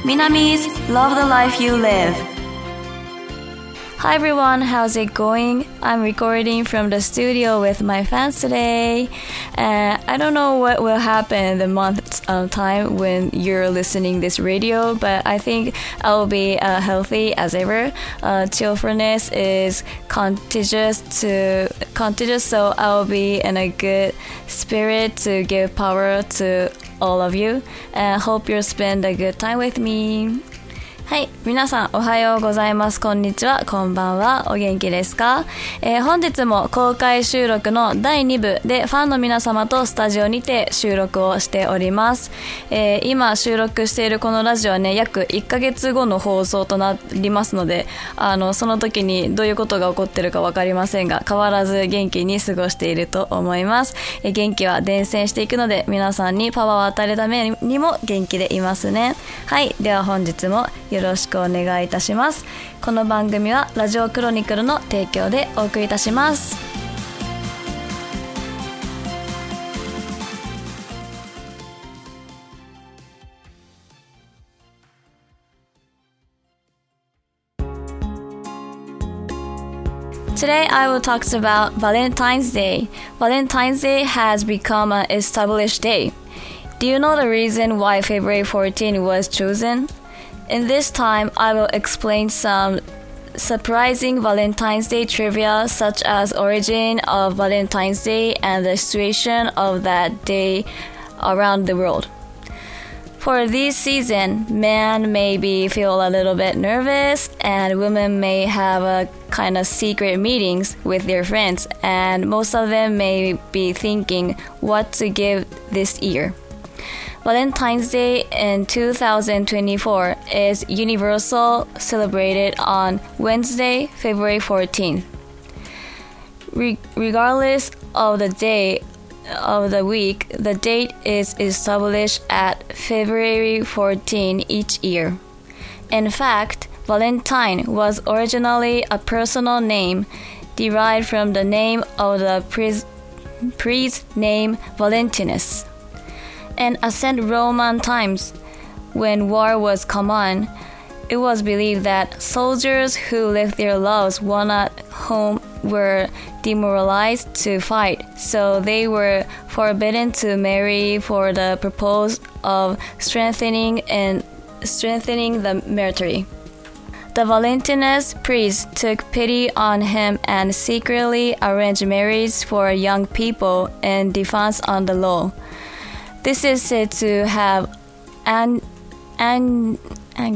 Minami's Love the Life You Live. Hi everyone, how's it going? I'm recording from the studio with my fans today. I don't know what will happen in the month's time when you're listening this radio, but I think I'll be healthy as ever. Cheerfulness is contagious, so I'll be in a good spirit to give power to all of you. And hope you'll spend a good time with me. はい、皆さんおはようございます。こんにちは、こんばんは。お元気ですか？本日も公開収録の第2部でファンの皆様とスタジオにて収録をしております。今収録しているこのラジオはね、約1ヶ月後の放送となりますので、その時にどういうことが起こってるかわかりませんが、変わらず元気に過ごしていると思います。元気は伝染していくので、皆さんにパワーを与えるためにも元気でいますね。はい、では本日もよろしくお願いいたします。この番組はラジオクロニクルの提供でお送りいたします。Today I will talk about Valentine's Day. Valentine's Day has become an established day. Do you know the reason why February 14 was chosen?In this time, I will explain some surprising Valentine's Day trivia such as origin of Valentine's Day and the situation of that day around the world. For this season, men maybe feel a little bit nervous and women may have a kind of secret meetings with their friends, and most of them may be thinking what to give this year.Valentine's Day in 2024 is universal celebrated on Wednesday, February 14th. Regardless of the day of the week, the date is established at February 14 each year. In fact, Valentine was originally a personal name derived from the name of the priest named Valentinus.In ancient Roman times, when war was common, it was believed that soldiers who left their loved ones at home were demoralized to fight, so they were forbidden to marry for the purpose of strengthening the military. The Valentinus priest took pity on him and secretly arranged marriage for young people in defense of the law.This is said to have angered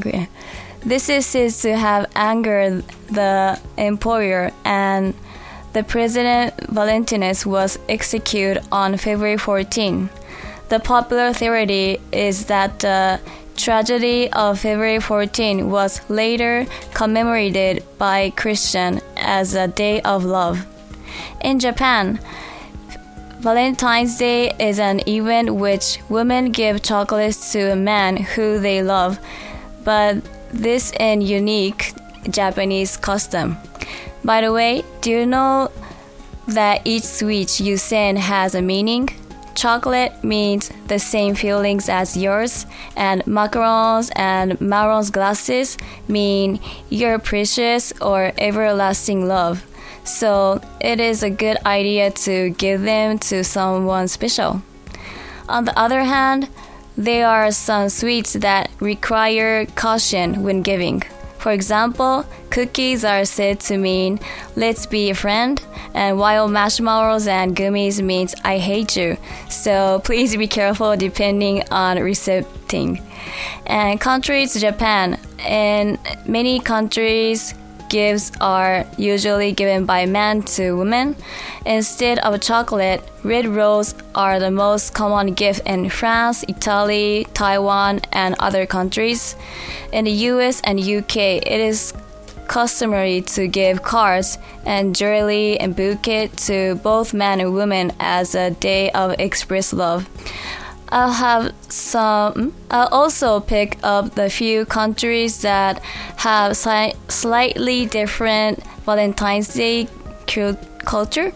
the emperor, and the president Valentinus was executed on February 14. The popular theory is that the tragedy of February 14 was later commemorated by Christians as a day of love. In Japan,Valentine's Day is an event which women give chocolates to a man who they love, but this is a unique Japanese custom. By the way, do you know that each sweet you send has a meaning? Chocolate means the same feelings as yours, and macarons and marrons glasses mean your precious or everlasting love.So it is a good idea to give them to someone special. On the other hand, there are some sweets that require caution when giving. For example, cookies are said to mean let's be a friend, and while marshmallows and gummies means I hate you. So please be careful depending on receiving. And contrary to Japan, in many countries,Gifts are usually given by men to women. Instead of chocolate, red roses are the most common gift in France, Italy, Taiwan, and other countries. In the US and UK, it is customary to give cards and jewelry and bouquet to both men and women as a day of express love.I'll also pick up the few countries that have slightly different Valentine's Day culture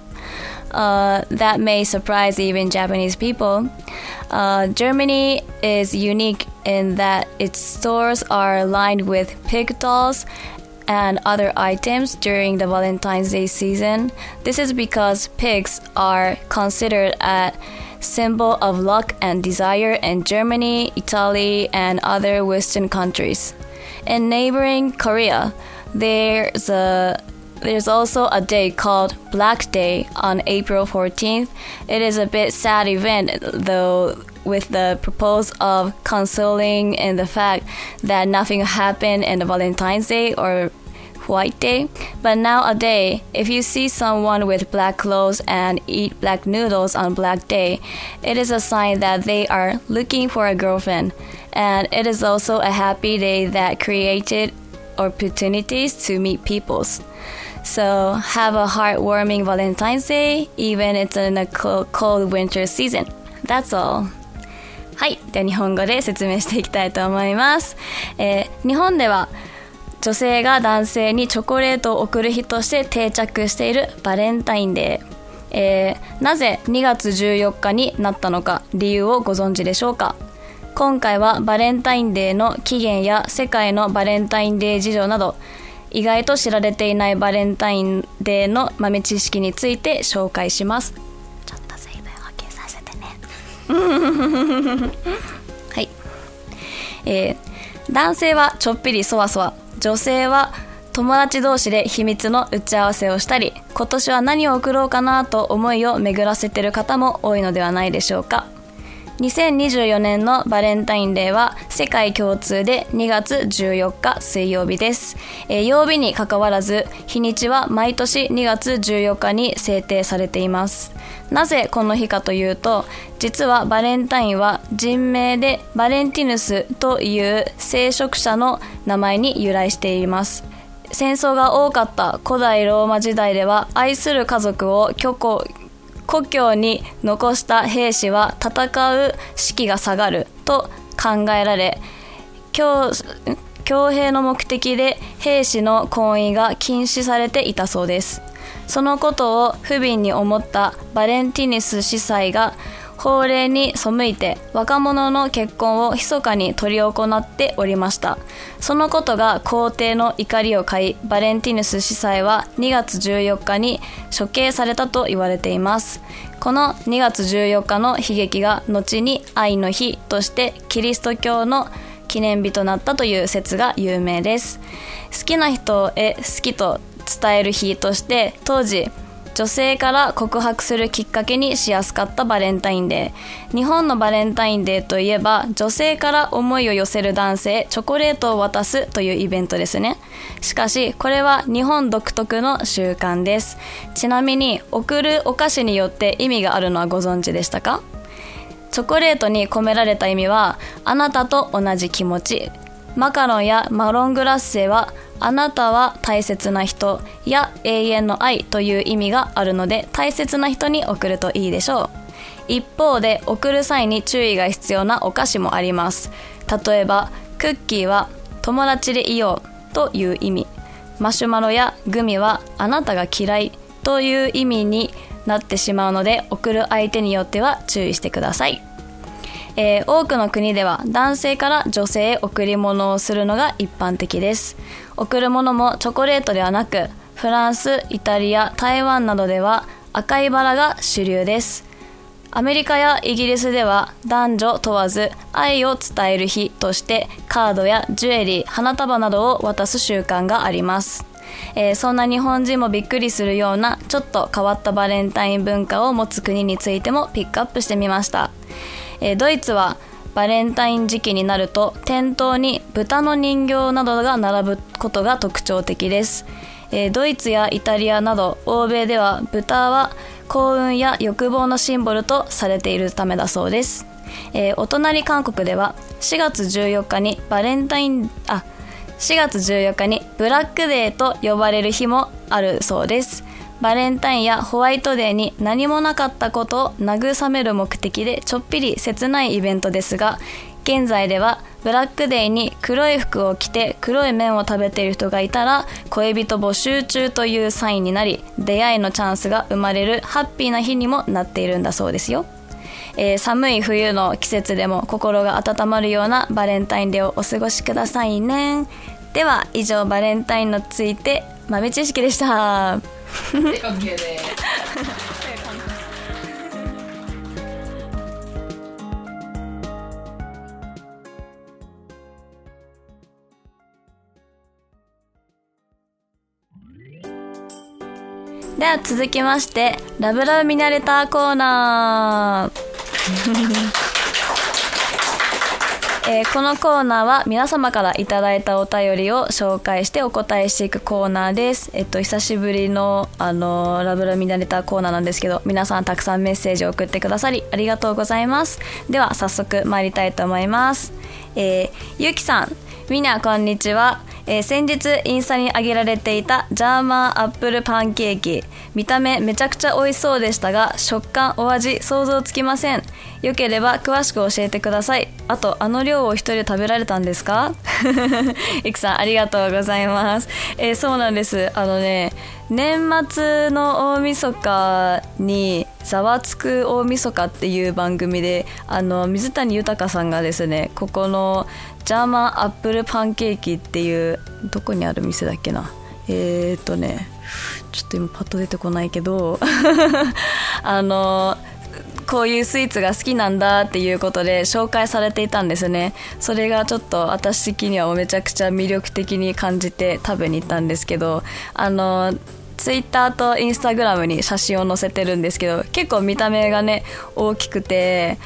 that may surprise even Japanese people. Germany is unique in that its stores are lined with pig dolls and other items during the Valentine's Day season. This is because pigs are considered a symbol of luck and desire in Germany, Italy, and other Western countries. In neighboring Korea, there's also a day called Black Day on April 14th. It is a bit sad event, though, with the purpose of consoling in the fact that nothing happened in the Valentine's Day or White Day. But nowadays, if you see someone with black clothes and eat black noodles on Black Day, it is a sign that they are looking for a girlfriend. And it is also a happy day that created opportunities to meet peoples. So have a heartwarming Valentine's Day, even it's in a cold winter season. That's all. はい。では日本語で説明していきたいと思います。日本では女性が男性にチョコレートを贈る日として定着しているバレンタインデー。なぜ2月14日になったのか理由をご存知でしょうか。今回はバレンタインデーの起源や世界のバレンタインデー事情など意外と知られていないバレンタインデーの豆知識について紹介します。ちょっと水分補給させてねはい、男性はちょっぴりそわそわ、女性は友達同士で秘密の打ち合わせをしたり、今年は何を贈ろうかなと思いを巡らせている方も多いのではないでしょうか。2024年のバレンタインデーは世界共通で2月14日水曜日です。曜日に関わらず日にちは毎年2月14日に制定されています。なぜこの日かというと、実はバレンタインは人名でバレンティヌスという聖職者の名前に由来しています。戦争が多かった古代ローマ時代では愛する家族を故郷に残した兵士は戦う士気が下がると考えられ、徴兵の目的で兵士の婚姻が禁止されていたそうです。そのことを不憫に思ったバレンティヌス司祭が法令に背いて若者の結婚を密かに執り行っておりました。そのことが皇帝の怒りを買い、バレンティヌス司祭は2月14日に処刑されたと言われています。この2月14日の悲劇が後に愛の日としてキリスト教の記念日となったという説が有名です。好きな人へ好きと伝える日として当時女性から告白するきっかけにしやすかったバレンタインデー。日本のバレンタインデーといえば女性から思いを寄せる男性へチョコレートを渡すというイベントですね。しかしこれは日本独特の習慣です。ちなみに贈るお菓子によって意味があるのはご存知でしたか？チョコレートに込められた意味はあなたと同じ気持ち、マカロンやマロングラッセはあなたは大切な人や永遠の愛という意味があるので大切な人に贈るといいでしょう。一方で贈る際に注意が必要なお菓子もあります。例えばクッキーは友達でいようという意味、マシュマロやグミはあなたが嫌いという意味になってしまうので贈る相手によっては注意してください。多くの国では男性から女性へ贈り物をするのが一般的です。贈る物もチョコレートではなく、フランス、イタリア、台湾などでは赤いバラが主流です。アメリカやイギリスでは男女問わず愛を伝える日としてカードやジュエリー、花束などを渡す習慣があります。そんな日本人もびっくりするようなちょっと変わったバレンタイン文化を持つ国についてもピックアップしてみました。ドイツはバレンタイン時期になると店頭に豚の人形などが並ぶことが特徴的です。ドイツやイタリアなど欧米では豚は幸運や欲望のシンボルとされているためだそうです。お隣韓国では4月14日にブラックデーと呼ばれる日もあるそうです。バレンタインやホワイトデーに何もなかったことを慰める目的でちょっぴり切ないイベントですが、現在ではブラックデーに黒い服を着て黒い麺を食べている人がいたら恋人募集中というサインになり、出会いのチャンスが生まれるハッピーな日にもなっているんだそうですよ。 寒い冬の季節でも心が温まるようなバレンタインデーをお過ごしくださいね。では以上バレンタインについて豆知識でした。 OK です。 では続きましてラブラブ見慣れたコーナーこのコーナーは皆様からいただいたお便りを紹介してお答えしていくコーナーです。久しぶりのラブラブ見慣れたコーナーなんですけど、皆さんたくさんメッセージを送ってくださりありがとうございます。では早速参りたいと思います。ゆきさん、みんなこんにちは。先日インスタに上げられていたジャーマンアップルパンケーキ、見た目めちゃくちゃ美味しそうでしたが食感お味想像つきません。よければ詳しく教えてください。あと量を一人で食べられたんですか？いくさんありがとうございます。そうなんです。年末の大晦日にざわつく大晦日っていう番組で水谷豊さんがですね、ここのジャーマンアップルパンケーキっていうどこにある店だっけな、ちょっと今パッと出てこないけどこういうスイーツが好きなんだっていうことで紹介されていたんですね。それがちょっと私的にはめちゃくちゃ魅力的に感じて食べに行ったんですけど、ツイッターとインスタグラムに写真を載せてるんですけど、結構見た目がね大きくて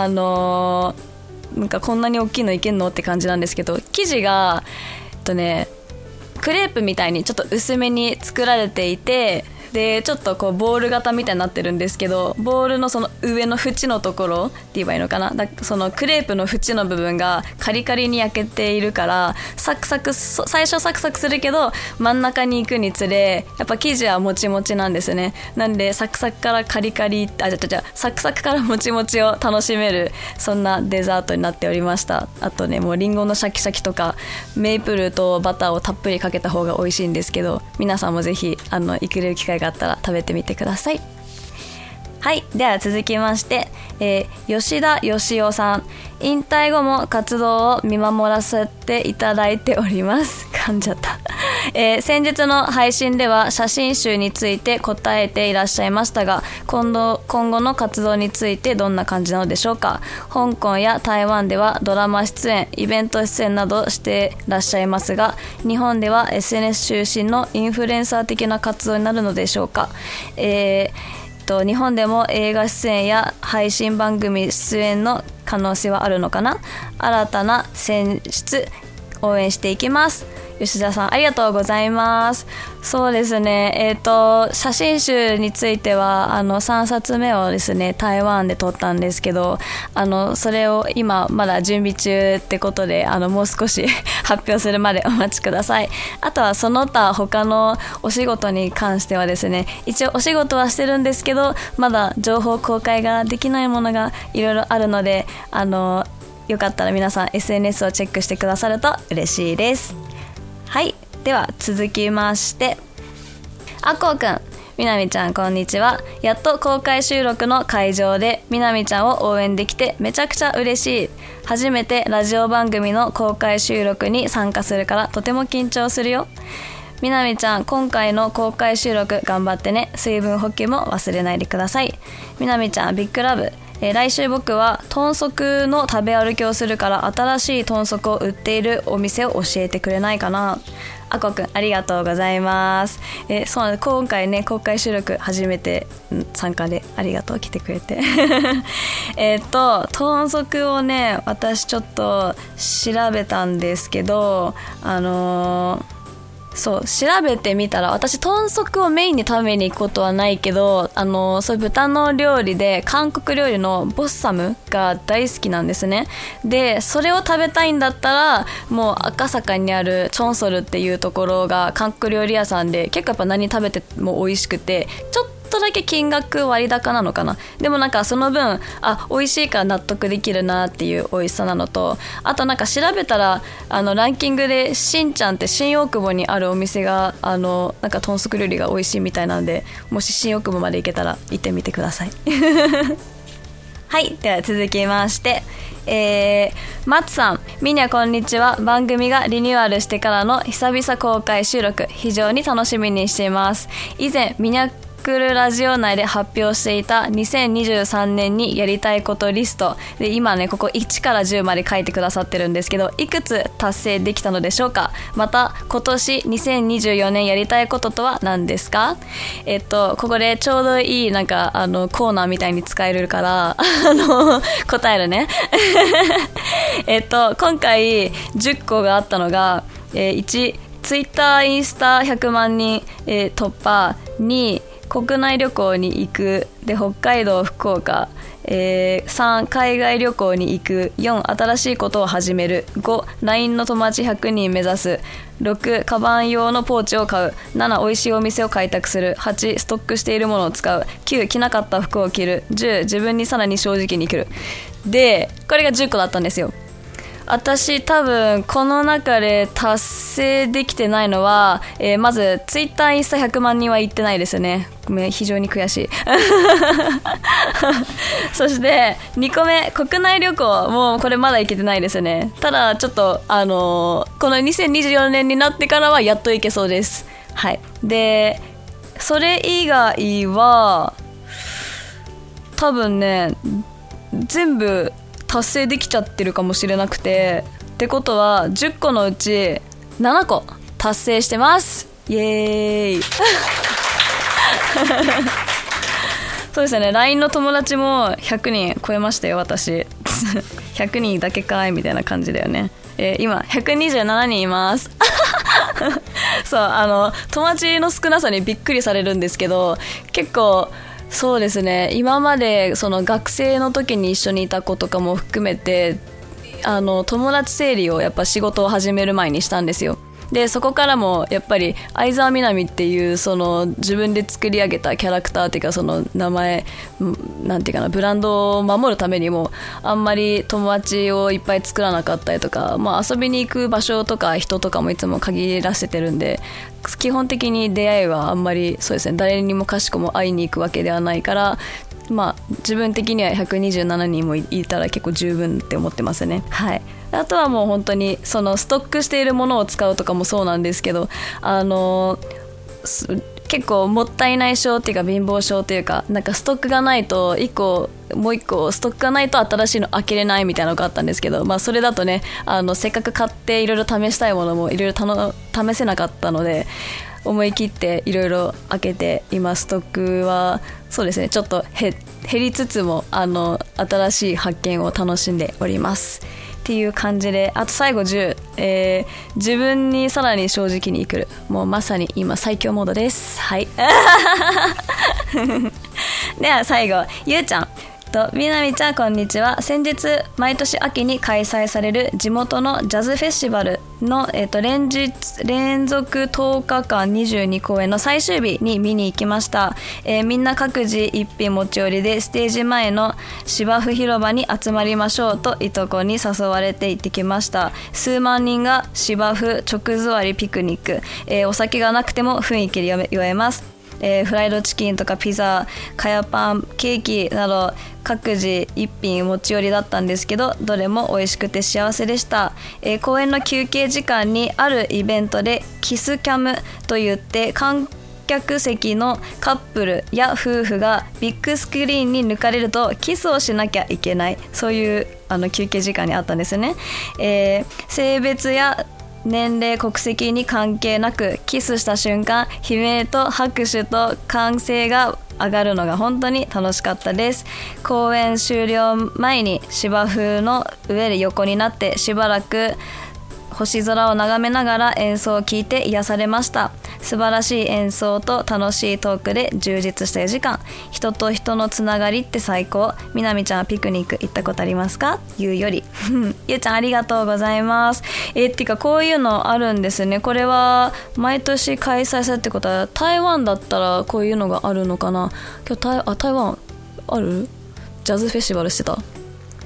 なんかこんなに大きいのいけんのって感じなんですけど、生地がクレープみたいにちょっと薄めに作られていて、でちょっとこうボール型みたいになってるんですけど、ボールのその上の縁のところって言えばいいのかな、そのクレープの縁の部分がカリカリに焼けているからサクサク、最初サクサクするけど真ん中に行くにつれやっぱ生地はもちもちなんですね。なんでサクサクからカリカリサクサクからもちもちを楽しめる、そんなデザートになっておりました。あとね、もうリンゴのシャキシャキとかメイプルとバターをたっぷりかけた方が美味しいんですけど、皆さんもぜひ行ける機会があったら食べてみてください。はい、では続きまして、吉田義雄さん、引退後も活動を見守らせていただいております。噛んじゃった。先日の配信では写真集について答えていらっしゃいましたが、今後の活動についてどんな感じなのでしょうか？香港や台湾ではドラマ出演、イベント出演などしてらっしゃいますが、日本では SNS 中心のインフルエンサー的な活動になるのでしょうか？日本でも映画出演や配信番組出演の可能性はあるのかな？新たな選出応援していきます。吉田さんありがとうございます。そうですね、写真集については3冊目をですね台湾で撮ったんですけど、それを今まだ準備中ってことでもう少し発表するまでお待ちください。あとはその他他のお仕事に関してはですね、一応お仕事はしてるんですけどまだ情報公開ができないものがいろいろあるのでよかったら皆さん SNS をチェックしてくださると嬉しいです。はい、では続きましてあこうくん、みなみちゃんこんにちは。やっと公開収録の会場でみなみちゃんを応援できてめちゃくちゃ嬉しい。初めてラジオ番組の公開収録に参加するからとても緊張するよ。みなみちゃん今回の公開収録頑張ってね。水分補給も忘れないでください。みなみちゃんビッグラブ。来週僕は豚足の食べ歩きをするから新しい豚足を売っているお店を教えてくれないかな。あこくんありがとうございます。そうなんです、今回ね公開収録初めて参加でありがとう、来てくれて豚足をね私ちょっと調べたんですけどそう調べてみたら、私豚足をメインに食べに行くことはないけどそういう豚の料理で韓国料理のボッサムが大好きなんですね。でそれを食べたいんだったらもう赤坂にあるチョンソルっていうところが韓国料理屋さんで、結構やっぱ何食べても美味しくて、ちょっとだけ金額割高なのかな。でもなんかその分美味しいから納得できるなっていう美味しさなのと、あとなんか調べたらランキングでしんちゃんって新大久保にあるお店がなんか豚足料理が美味しいみたいなんで、もし新大久保まで行けたら行ってみてくださいはい、では続きましてマツさん、みにゃこんにちは。番組がリニューアルしてからの久々公開収録、非常に楽しみにしています。以前ミニャクルラジオ内で発表していた2023年にやりたいことリストで、今ねここ1から10まで書いてくださってるんですけど、いくつ達成できたのでしょうか。また今年2024年やりたいこととは何ですか。ここでちょうどいいなんかコーナーみたいに使えるから答えるね今回10個があったのが、1ツイッターインスタ100万人、突破。2国内旅行に行くで北海道福岡、3海外旅行に行く。4新しいことを始める。5 LINE の友達100人目指す。6カバン用のポーチを買う。7美味しいお店を開拓する。8ストックしているものを使う。9着なかった服を着る。10自分にさらに正直に生きる。でこれが10個だったんですよ。私多分この中で達成できてないのは、まずツイッターインスタ100万人は行ってないですね。非常に悔しいそして2個目国内旅行もこれまだ行けてないですね。ただちょっとこの2024年になってからはやっと行けそうです。はい。でそれ以外は多分ね全部達成できちゃってるかもしれなくて、ってことは10個のうち7個達成してます。イエーイそうですね、 LINE の友達も100人超えましたよ私100人だけかいみたいな感じだよね。今127人いますそう友達の少なさにびっくりされるんですけど、結構そうですね、今までその学生の時に一緒にいた子とかも含めて友達整理をやっぱ仕事を始める前にしたんですよ。でそこからもやっぱり相沢みなみっていうその自分で作り上げたキャラクターっていうか、その名前なんていうかな、ブランドを守るためにもあんまり友達をいっぱい作らなかったりとか、遊びに行く場所とか人とかもいつも限らせてるんで、基本的に出会いはあんまりそうですね、誰にもかしこも会いに行くわけではないから、自分的には127人もいたら結構十分って思ってますね。はい。あとはもう本当にそのストックしているものを使うとかもそうなんですけど、結構もったいない症っていうか貧乏症っていうか、なんかストックがないともう一個ストックがないと新しいの開けれないみたいなのがあったんですけど、それだとねせっかく買っていろいろ試したいものもいろいろ試せなかったので、思い切っていろいろ開けて今ストックはそうですね、ちょっと減りつつも新しい発見を楽しんでおりますっていう感じで、あと最後10、自分にさらに正直に生きる。もうまさに今最強モードです。はいでは最後ゆうちゃんとみなみちゃん、こんにちは。先日毎年秋に開催される地元のジャズフェスティバルの、連続10日間22公演の最終日に見に行きました。みんな各自一品持ち寄りでステージ前の芝生広場に集まりましょうといとこに誘われて行ってきました。数万人が芝生直座りピクニック、お酒がなくても雰囲気で酔えます。フライドチキンとかピザ、かやパン、ケーキなど各自一品持ち寄りだったんですけど、どれも美味しくて幸せでした。公演の休憩時間にあるイベントでキスキャムといって観客席のカップルや夫婦がビッグスクリーンに抜かれるとキスをしなきゃいけない、そういう休憩時間にあったんですよね。性別や年齢国籍に関係なくキスした瞬間、悲鳴と拍手と歓声が上がるのが本当に楽しかったです。公演終了前に芝生の上で横になってしばらく星空を眺めながら演奏を聴いて癒されました。素晴らしい演奏と楽しいトークで充実した4時間。人と人のつながりって最高。みなみちゃんはピクニック行ったことありますか？ゆうよりゆうちゃんありがとうございます。てかこういうのあるんですね。これは毎年開催されるってことは台湾だったらこういうのがあるのかな。今日台湾ある？ジャズフェスティバルしてた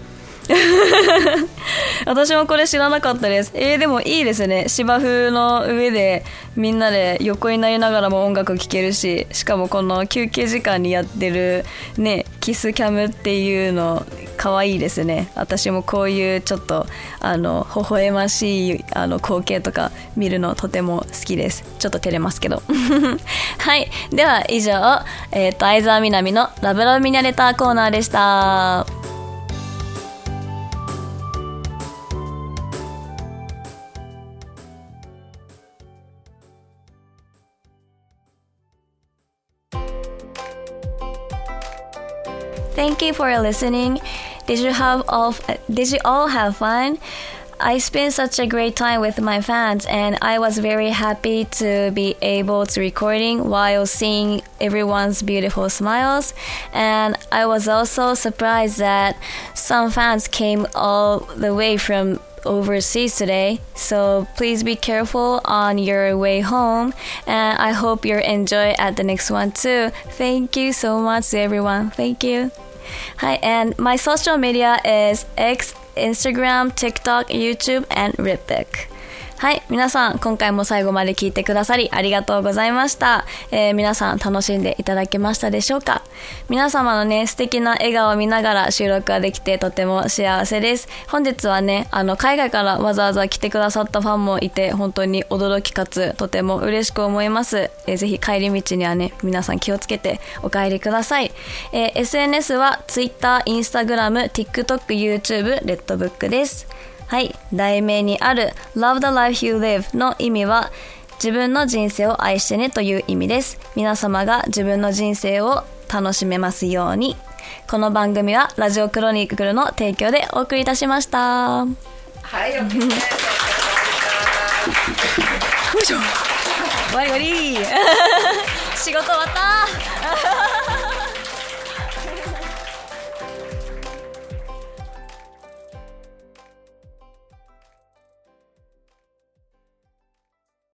私もこれ知らなかったです。でもいいですね。芝生の上でみんなで横になりながらも音楽聴けるし、しかもこの休憩時間にやってるね、キスキャムっていうの可愛いですね。私もこういうちょっと微笑ましい光景とか見るのとても好きです。ちょっと照れますけどはい、では以上、相沢みなみのラブラブミニャレターコーナーでした。Thank you for listening. Did you all have fun? I spent such a great time with my fans, and I was very happy to be able to recording while seeing everyone's beautiful smiles. And I was also surprised that some fans came all the way from overseas today, so please be careful on your way home, and I hope you enjoy at the next one too. Thank you so much to everyone. Thank you. Hi, and my social media is X, Instagram, TikTok, YouTube, and Rippic. はい、皆さん今回も最後まで聞いてくださりありがとうございました。皆さん楽しんでいただけましたでしょうか。皆様のね、素敵な笑顔を見ながら収録ができてとても幸せです。本日はね、海外からわざわざ来てくださったファンもいて本当に驚きかつとても嬉しく思います。ぜひ帰り道にはね、皆さん気をつけてお帰りください。SNS は Twitter、Instagram、TikTok、YouTube、Redbook です。はい、題名にある Love the life you live の意味は自分の人生を愛してねという意味です。皆様が自分の人生を楽しめますように。この番組はラジオクロニクルの提供でお送りいたしました。 はい、OK です。よいしょ。終わり仕事終わった。